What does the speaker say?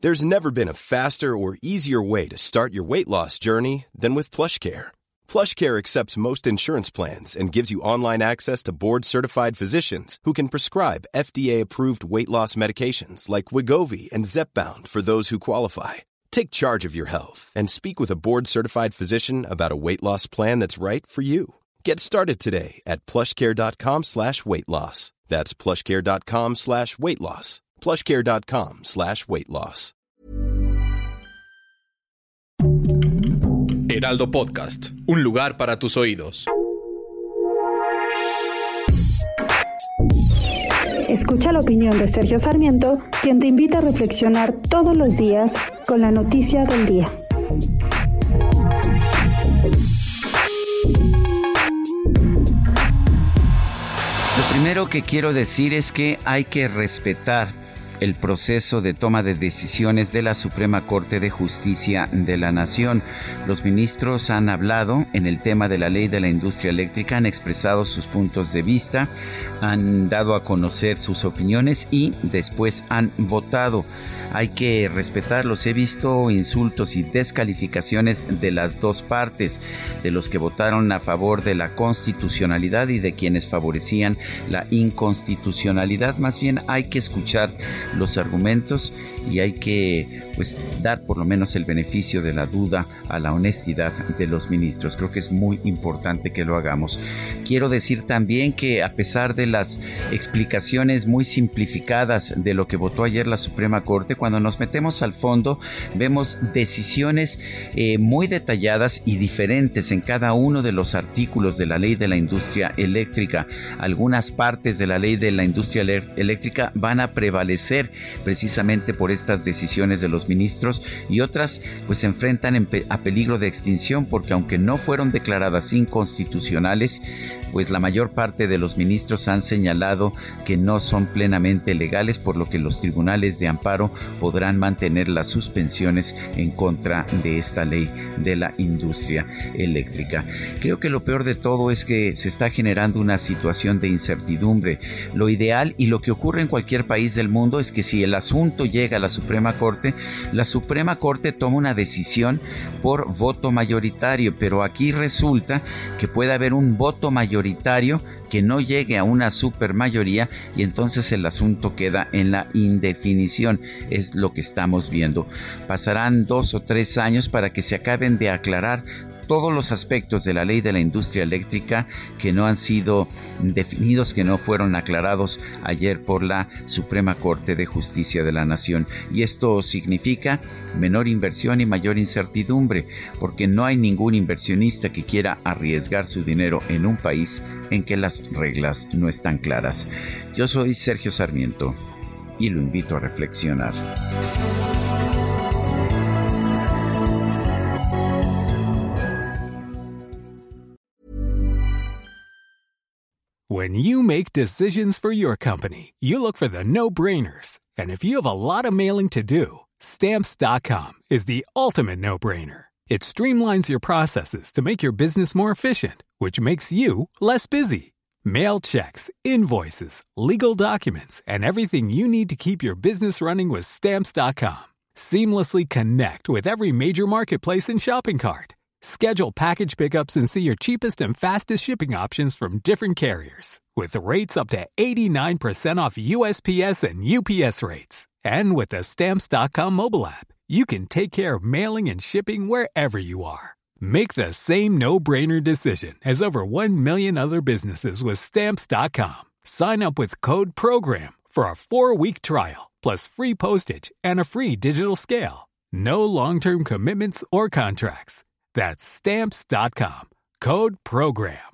There's never been a faster or easier way to start your weight loss journey than with PlushCare. PlushCare accepts most insurance plans and gives you online access to board-certified physicians who can prescribe FDA-approved weight loss medications like Wegovy and Zepbound for those who qualify. Take charge of your health and speak with a board-certified physician about a weight loss plan that's right for you. Get started today at plushcare.com/weight loss. That's plushcare.com/weight loss. plushcare.com/weight loss. Heraldo Podcast, un lugar para tus oídos. Escucha la opinión de Sergio Sarmiento, quien te invita a reflexionar todos los días con la noticia del día. Lo primero que quiero decir es que hay que respetar el proceso de toma de decisiones de la Suprema Corte de Justicia de la Nación. Los ministros han hablado en el tema de la ley de la industria eléctrica, han expresado sus puntos de vista, han dado a conocer sus opiniones y después han votado. Hay que respetarlos. He visto insultos y descalificaciones de las dos partes, de los que votaron a favor de la constitucionalidad y de quienes favorecían la inconstitucionalidad. Más bien hay que escuchar los argumentos y hay que dar por lo menos el beneficio de la duda a la honestidad de los ministros. Creo que es muy importante que lo hagamos. Quiero decir también que a pesar de las explicaciones muy simplificadas de lo que votó ayer la Suprema Corte, cuando nos metemos al fondo vemos decisiones muy detalladas y diferentes en cada uno de los artículos de la ley de la industria eléctrica. Algunas partes de la ley de la industria eléctrica van a prevalecer precisamente por estas decisiones de los ministros y otras se enfrentan a peligro de extinción porque aunque no fueron declaradas inconstitucionales, la mayor parte de los ministros han señalado que no son plenamente legales, por lo que los tribunales de amparo podrán mantener las suspensiones en contra de esta ley de la industria eléctrica. Creo que lo peor de todo es que se está generando una situación de incertidumbre. Lo ideal y lo que ocurre en cualquier país del mundo es que si el asunto llega a la Suprema Corte toma una decisión por voto mayoritario, pero aquí resulta que puede haber un voto mayoritario que no llegue a una supermayoría y entonces el asunto queda en la indefinición. Es lo que estamos viendo. Pasarán 2 o 3 años para que se acaben de aclarar todos los aspectos de la ley de la industria eléctrica que no han sido definidos, que no fueron aclarados ayer por la Suprema Corte de Justicia de la Nación. Y esto significa menor inversión y mayor incertidumbre, porque no hay ningún inversionista que quiera arriesgar su dinero en un país en que las reglas no están claras. Yo soy Sergio Sarmiento y lo invito a reflexionar. When you make decisions for your company, you look for the no-brainers. And if you have a lot of mailing to do, Stamps.com is the ultimate no-brainer. It streamlines your processes to make your business more efficient, which makes you less busy. Mail checks, invoices, legal documents, and everything you need to keep your business running with Stamps.com. Seamlessly connect with every major marketplace and shopping cart. Schedule package pickups and see your cheapest and fastest shipping options from different carriers, with rates up to 89% off USPS and UPS rates. And with the Stamps.com mobile app, you can take care of mailing and shipping wherever you are. Make the same no-brainer decision as over 1 million other businesses with Stamps.com. Sign up with code PROGRAM for a 4-week trial, plus free postage and a free digital scale. No long-term commitments or contracts. That's Stamps.com. Code PROGRAM.